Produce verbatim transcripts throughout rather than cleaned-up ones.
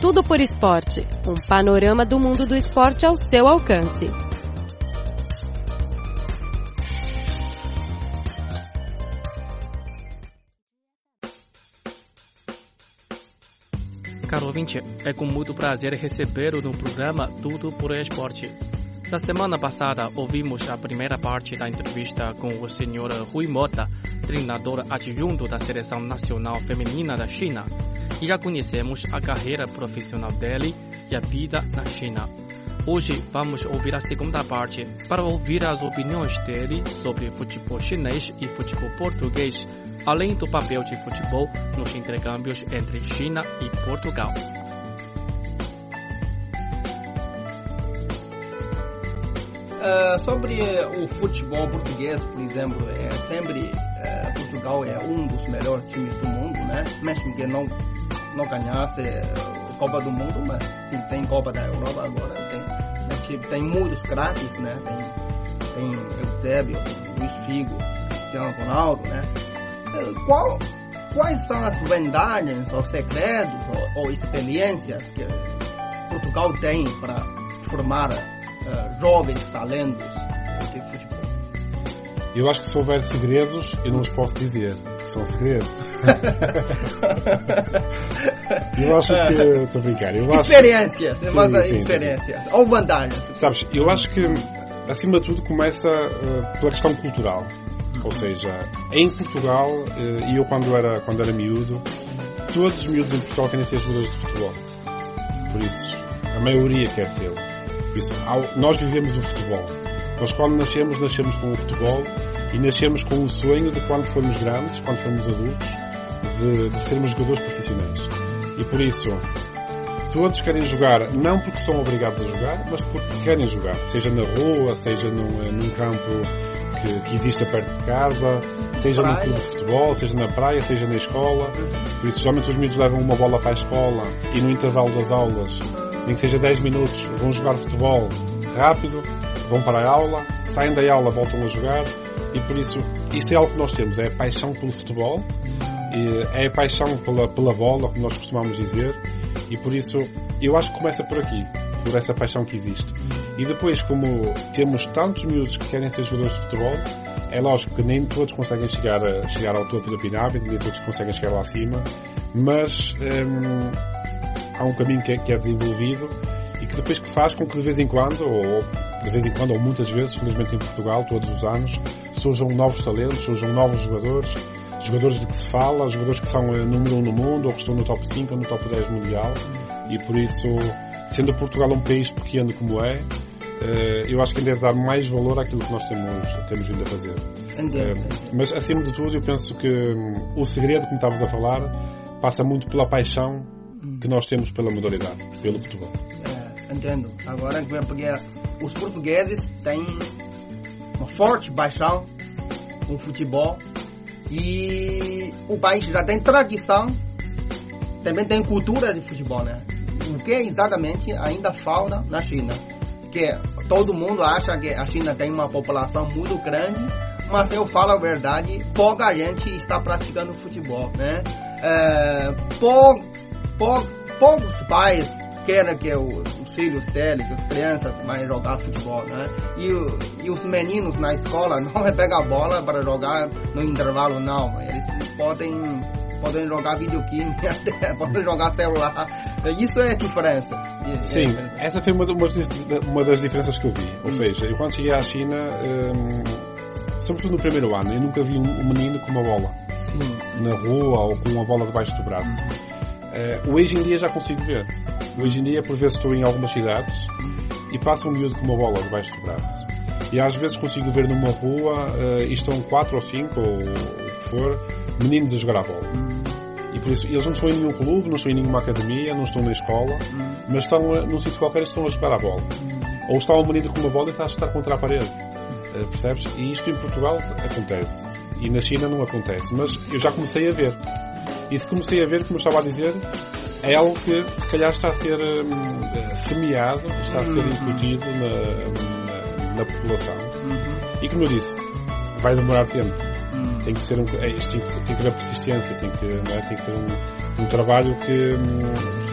Tudo por Esporte, um panorama do mundo do esporte ao seu alcance. Caro ouvinte, é com muito prazer recebê-lo no programa Tudo por Esporte. Na semana passada, ouvimos a primeira parte da entrevista com o senhor Rui Mota, treinador adjunto da Seleção Nacional Feminina da China, e já conhecemos a carreira profissional dele e a vida na China. Hoje vamos ouvir a segunda parte para ouvir as opiniões dele sobre futebol chinês e futebol português, além do papel de futebol nos intercâmbios entre China e Portugal. Uh, sobre uh, o futebol português, por exemplo, é sempre uh, Portugal é um dos melhores times do mundo, né? Mesmo que não não ganhasse a Copa do Mundo, mas sim, tem Copa da Europa agora, tem, tem muitos craques, né? Tem, tem Eusébio, tem Luís Figo, Cristiano Ronaldo, né? Uh, qual, quais são as vantagens ou segredos ou, ou experiências que Portugal tem para formar Uh, jovens talentos de futebol? Eu acho que se houver segredos, eu não os posso dizer, porque são segredos. Eu acho que... Estou a brincar. Eu acho... Experiências, sim, sim, experiências. Sim. Ou vantagens. Sabes, eu acho que, acima de tudo, começa uh, pela questão cultural. Ou seja, em Portugal, uh, e eu quando era, quando era miúdo, todos os miúdos em Portugal querem ser jogadores de futebol. Por isso, a maioria quer ser. Por isso, nós vivemos o futebol. Nós, quando nascemos, nascemos com o futebol e nascemos com o sonho de, quando formos grandes, quando formos adultos, de, de sermos jogadores profissionais. E por isso, todos querem jogar, não porque são obrigados a jogar, mas porque querem jogar. Seja na rua, seja num, num campo que, que exista perto de casa, seja num clube de futebol, seja na praia, seja na escola. Por isso, geralmente os miúdos levam uma bola para a escola e no intervalo das aulas, nem que seja dez minutos, vão jogar futebol rápido, vão para a aula, saem da aula, voltam a jogar, e por isso, isto é algo que nós temos, é a paixão pelo futebol, é a paixão pela, pela bola, como nós costumamos dizer, e por isso, eu acho que começa por aqui, por essa paixão que existe. E depois, como temos tantos miúdos que querem ser jogadores de futebol, é lógico que nem todos conseguem chegar, a, chegar ao topo da pirâmide, nem todos conseguem chegar lá acima, mas... Hum, há um caminho que é, que é desenvolvido e que depois que faz com que de vez em quando, ou de vez em quando, ou muitas vezes, felizmente em Portugal, todos os anos, surjam novos talentos, surjam novos jogadores, jogadores de que se fala, jogadores que são número um no mundo, ou que estão no top cinco ou no top dez mundial, e por isso, sendo Portugal um país pequeno como é, eu acho que deve dar mais valor àquilo que nós temos, temos vindo a fazer. Mas, acima de tudo, eu penso que o segredo, como estavas a falar, passa muito pela paixão que nós temos pela modalidade, pelo futebol. É, entendo. Agora, porque os portugueses têm uma forte paixão com o futebol e o país já tem tradição, também tem cultura de futebol, né? O que exatamente ainda falta na China? Porque todo mundo acha que a China tem uma população muito grande, mas eu falo a verdade, pouca gente está praticando futebol, né? É, pou, pou, poucos pais querem que os, os filhos deles, as crianças, vão jogar futebol, né? E, e os meninos na escola não pegam a bola para jogar no intervalo, não. Eles podem, podem jogar videogame, podem jogar celular. Isso é a diferença. Sim, é, essa foi uma, uma das diferenças que eu vi. Ou hum. seja, eu quando cheguei à China, hum, sobretudo no primeiro ano, eu nunca vi um menino com uma bola hum. na rua ou com uma bola debaixo do braço. Uh, hoje em dia já consigo ver. Hoje em dia, por vezes, estou em algumas cidades e passa um miúdo com uma bola debaixo do braço. E às vezes consigo ver numa rua uh, e estão quatro ou cinco, ou o que for, meninos a jogar a bola. E por isso, eles não estão em nenhum clube, não estão em nenhuma academia, não estão na escola, mas estão uh, num sítio qualquer e estão a jogar a bola. Ou está um menino com uma bola e está a chutar contra a parede. Uh, percebes? E isto em Portugal acontece. E na China não acontece. Mas eu já comecei a ver. E se comecei a ver, como eu estava a dizer, é algo que se calhar está a ser um, semeado, está a ser incutido na, na, na população. Uhum. E como eu disse, vai demorar tempo. Uhum. Tem que ser um, é, isto tem, que, tem que haver persistência, tem que, não é? Tem que ser um, um trabalho que um,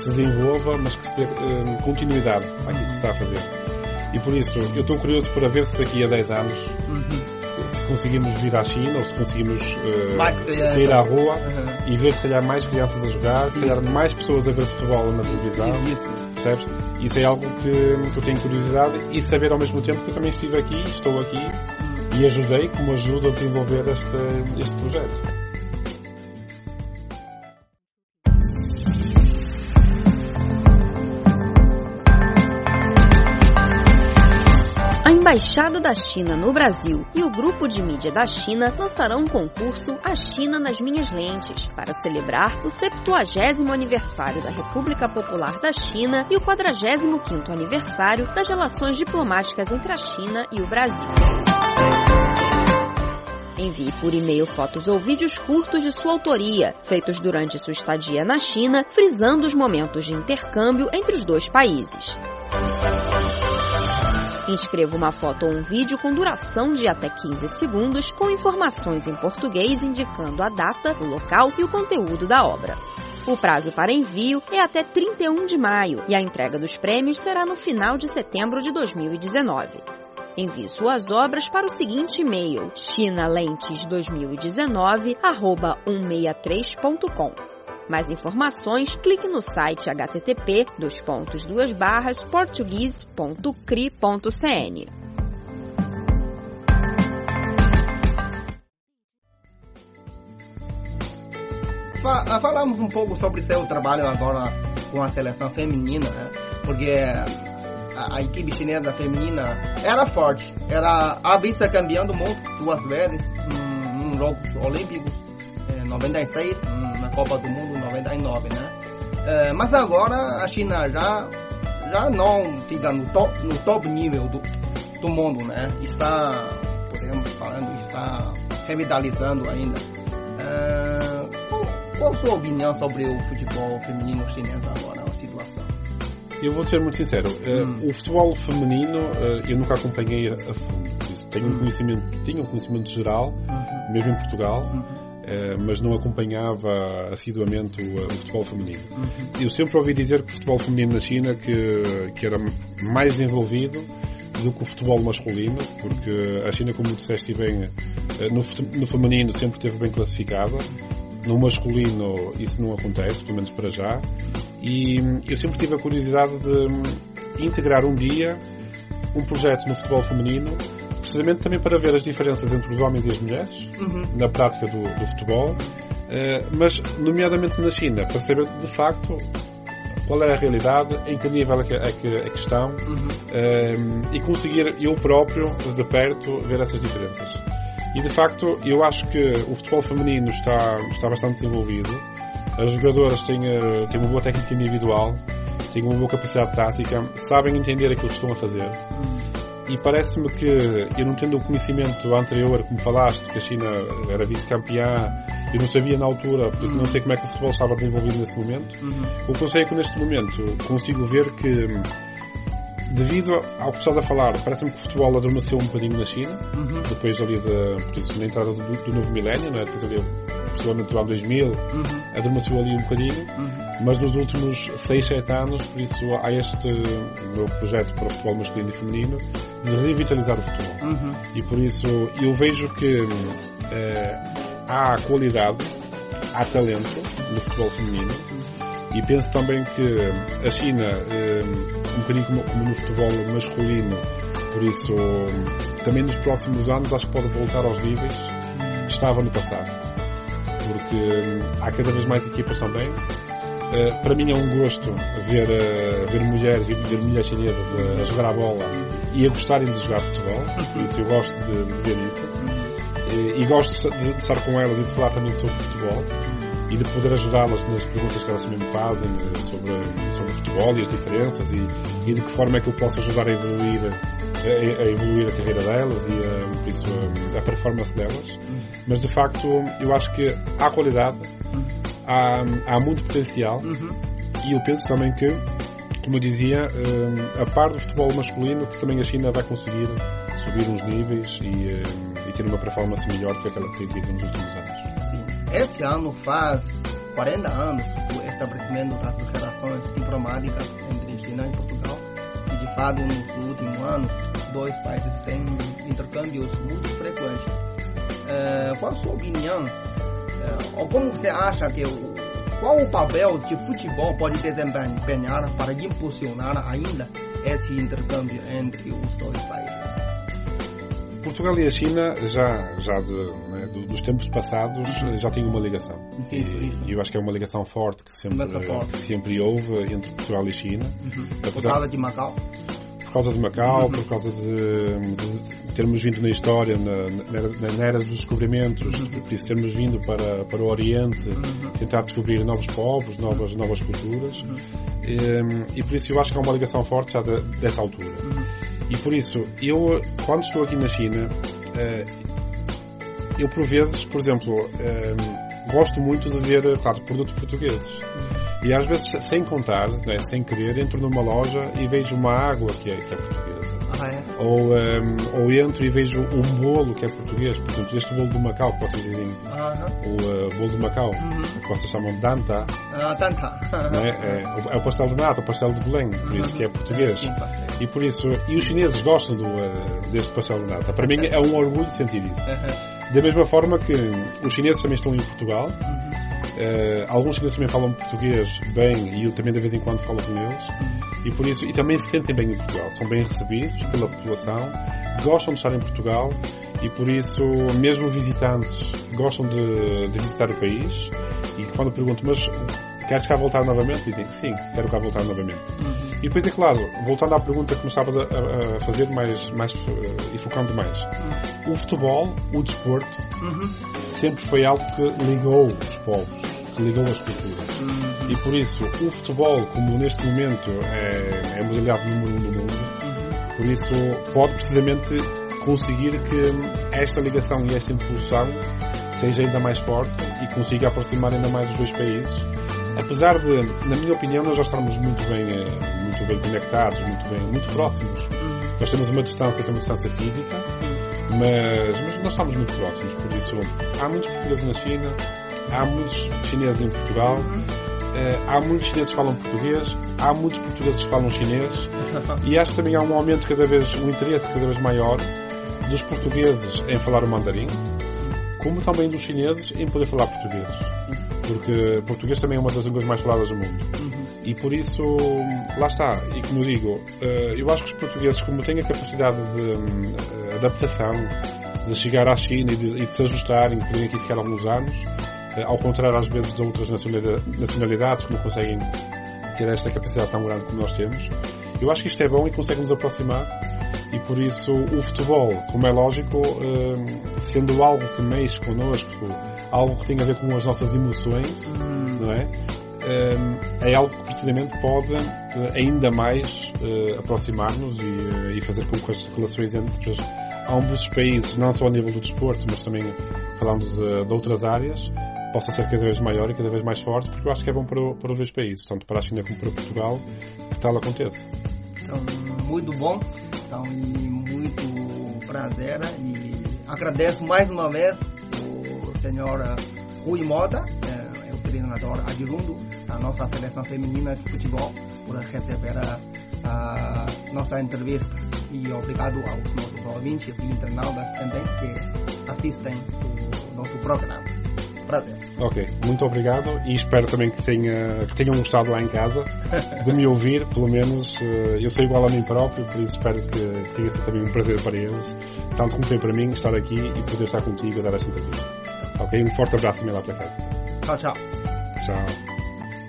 se desenvolva, mas que se dê uh, continuidade àquilo que se está a fazer. E por isso, eu estou curioso para ver se daqui a dez anos uhum. se conseguimos vir à China ou se conseguimos uh, sair à rua uhum. e ver se calhar mais crianças a jogar, se calhar mais pessoas a ver futebol na televisão, percebes? Isso é algo que, que eu tenho curiosidade e saber ao mesmo tempo que eu também estive aqui, estou aqui e ajudei, como ajudo a desenvolver este, este projeto. A Embaixada da China no Brasil e o Grupo de Mídia da China lançarão um concurso A China nas Minhas Lentes para celebrar o septuagésimo aniversário da República Popular da China e o quadragésimo quinto aniversário das relações diplomáticas entre a China e o Brasil. Envie por e-mail fotos ou vídeos curtos de sua autoria, feitos durante sua estadia na China, frisando os momentos de intercâmbio entre os dois países. Inscreva uma foto ou um vídeo com duração de até quinze segundos, com informações em português indicando a data, o local e o conteúdo da obra. O prazo para envio é até trinta e um de maio e a entrega dos prêmios será no final de setembro de dois mil e dezenove. Envie suas obras para o seguinte e-mail: chinalentes dois mil e dezenove arroba cento e sessenta e três ponto com. Mais informações, clique no site h t t p dois pontos duas barras português ponto cri ponto c n. Falamos um pouco sobre seu trabalho agora com a seleção feminina, né? Porque a, a equipe chinesa feminina era forte, era a vice-campeã do mundo duas vezes em, em Jogos Olímpicos, em noventa e seis, na Copa do Mundo em noventa e nove, né? É, mas agora a China já, já não fica no top, no top nível do, do mundo, né? Está, podemos falando, está revitalizando ainda. É, qual, qual a sua opinião sobre o futebol feminino chinês agora, a situação? Eu vou ser muito sincero, hum. o futebol feminino eu nunca acompanhei a fundo. Tenho um conhecimento, tenho um conhecimento geral, uhum. mesmo em Portugal, uhum. uh, mas não acompanhava assiduamente o, o futebol feminino. Uhum. Eu sempre ouvi dizer que o futebol feminino na China que, que era mais desenvolvido do que o futebol masculino, porque a China, como disseste bem, no, no feminino sempre esteve bem classificada, no masculino isso não acontece, pelo menos para já, e eu sempre tive a curiosidade de integrar um dia um projeto no futebol feminino, precisamente também para ver as diferenças entre os homens e as mulheres, uhum. na prática do, do futebol, uh, mas nomeadamente na China, para saber de facto qual é a realidade, em que nível é que, é que, é que estão, uhum. uh, e conseguir eu próprio, de perto, ver essas diferenças. E de facto, eu acho que o futebol feminino está, está bastante desenvolvido, as jogadoras têm, uh, têm uma boa técnica individual, têm uma boa capacidade tática, sabem entender aquilo que estão a fazer. Uhum. E parece-me que, eu não tendo o conhecimento anterior, como falaste, que a China era vice-campeã, eu não sabia na altura, por isso uhum. não sei como é que o futebol estava desenvolvido nesse momento. Uhum. O que eu sei é que neste momento consigo ver que, devido ao que estás a falar, parece-me que o futebol adormeceu um bocadinho na China, uhum. depois ali de, por isso, na entrada do, do novo milénio, né? Depois ali, possivelmente do ano dois mil, uhum. adormeceu ali um bocadinho, uhum. mas nos últimos seis, sete anos, por isso há este meu projeto para o futebol masculino e feminino de revitalizar o futebol. Uhum. E por isso eu vejo que eh, há qualidade, há talento no futebol feminino, uhum. e penso também que a China, eh, um bocadinho como, como no futebol masculino, por isso também nos próximos anos acho que pode voltar aos níveis que estava no passado, porque há cada vez mais equipas também. Uh, para mim é um gosto ver, uh, ver mulheres e ver mulheres chinesas a, a jogar a bola e a gostarem de jogar futebol, por isso eu gosto de, de ver isso, e, e gosto de, de estar com elas e de falar também sobre futebol e de poder ajudá-las nas perguntas que elas também me fazem sobre, sobre futebol e as diferenças e, e de que forma é que eu posso ajudar a evoluir a, a evoluir a carreira delas e a, por isso, a, a performance delas. Mas de facto eu acho que há qualidade, há, há muito potencial, uhum. e eu penso também que, como eu dizia, a par do futebol masculino, que também a China vai conseguir subir uns níveis e, e ter uma performance melhor do que aquela que tem tido nos últimos anos. Sim. Este ano faz quarenta anos do estabelecimento das relações diplomáticas entre China e Portugal. E, de fato, nos últimos anos, os dois países têm intercâmbios muito frequentes. Uh, qual a sua opinião? Uh, ou como você acha que o, qual o papel que o futebol pode desempenhar para impulsionar ainda esse intercâmbio entre os dois países? Portugal e a China, já, já de, né, dos tempos passados, já têm uma ligação. Sim, e, e eu acho que é uma ligação forte que sempre, forte. Que sempre houve entre Portugal e China. Uhum. Por causa de Macau? Por causa de Macau, uhum. por causa de, de termos vindo na história, na, na, na era dos descobrimentos, uhum. por isso termos vindo para, para o Oriente, uhum. tentar descobrir novos povos, novas, novas culturas. Uhum. E, e por isso eu acho que há uma ligação forte já de, dessa altura. Uhum. E por isso, eu, quando estou aqui na China, eu por vezes, por exemplo, gosto muito de ver, claro, produtos portugueses. E às vezes, sem contar, né, sem querer, entro numa loja e vejo uma água que é, que é portuguesa. Ah, é? Ou, um, ou entro e vejo um bolo que é português. Por exemplo, este bolo do Macau, que vocês dizem, uh-huh. o uh, bolo do Macau, uh-huh. que vocês chamam de Danta. Ah, uh, Danta. Né? É, é o pastel de nata, o pastel de Belém, por isso que é português. Uh-huh. E por isso, e os chineses gostam do, uh, deste pastel de nata. Para mim é um orgulho sentir isso. Uh-huh. Da mesma forma que os chineses também estão em Portugal. Uh-huh. Uh, alguns chineses também falam português bem e eu também de vez em quando falo com eles. Uhum. E por isso, e também se sentem bem em Portugal, são bem recebidos pela população, gostam de estar em Portugal e por isso, mesmo visitantes gostam de, de visitar o país. E quando pergunto, mas queres cá voltar novamente? Dizem que sim, quero cá voltar novamente. Uhum. E depois é claro, voltando à pergunta que começavas a, a fazer mais, mais uh, e focando mais, uhum. o futebol, o desporto, uhum. sempre foi algo que ligou os povos, que ligou as culturas. Uhum. E por isso, o futebol, como neste momento é, é modalidade número um do mundo, uhum. por isso pode precisamente conseguir que esta ligação e esta impulsão seja ainda mais forte e consiga aproximar ainda mais os dois países. Apesar de, na minha opinião, nós já estamos muito bem, muito bem conectados, muito bem, muito próximos. Uhum. Nós temos uma distância, temos uma distância física, mas, mas nós estamos muito próximos. Por isso, há muitos portugueses na China, há muitos chineses em Portugal, uh, há muitos chineses que falam português, há muitos portugueses que falam chinês, e acho que também há um aumento cada vez, um interesse cada vez maior dos portugueses em falar o mandarim, como também dos chineses em poder falar português. Porque português também é uma das línguas mais faladas do mundo. Uhum. E por isso, lá está. E como digo, eu acho que os portugueses, como têm a capacidade de adaptação, de chegar à China e de, e de se ajustarem, de poderem aqui ficar alguns anos, ao contrário às vezes de outras nacionalidades que não conseguem ter esta capacidade tão grande como nós temos, eu acho que isto é bom e consegue nos aproximar. E por isso o futebol, como é lógico, sendo algo que mexe connosco, algo que tem a ver com as nossas emoções, hum. não é? É algo que precisamente pode ainda mais aproximar-nos e, e fazer com que as relações entre ambos os países, não só a nível do desporto, mas também falando de, de outras áreas, possa ser cada vez maior e cada vez mais forte, porque eu acho que é bom para, para os dois países, tanto para a China como para Portugal, que tal aconteça. Então, muito bom, então, e muito prazer, e agradeço mais uma vez o senhor Rui Mota, é, é o treinador adjunto da nossa seleção feminina de futebol, por receber a, a nossa entrevista, e obrigado aos nossos ouvintes e internautas também que assistem o nosso programa. Prazer. Ok, muito obrigado e espero também que, tenha, que tenham gostado lá em casa de me ouvir, pelo menos eu sou igual a mim próprio, por isso espero que tenha sido também um prazer para eles, tanto como foi para mim estar aqui e poder estar contigo a dar esta entrevista. Ok, um forte abraço também lá para casa. Tchau, tchau. Tchau.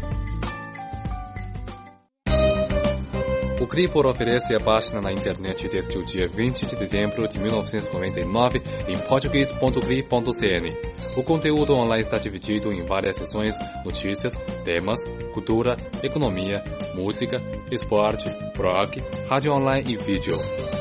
O Cripor oferece a página na internet desde o dia vinte de dezembro de mil novecentos e noventa e nove em português ponto cri ponto cn. O conteúdo online está dividido em várias seções: notícias, temas, cultura, economia, música, esporte, blog, rádio online e vídeo.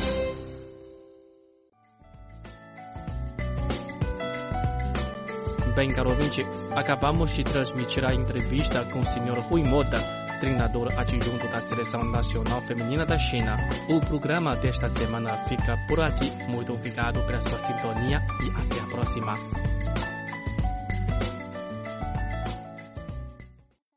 Bem, caro ouvinte, acabamos de transmitir a entrevista com o senhor Rui Mota, treinador adjunto da Seleção Nacional Feminina da China. O programa desta semana fica por aqui. Muito obrigado pela sua sintonia e até a próxima.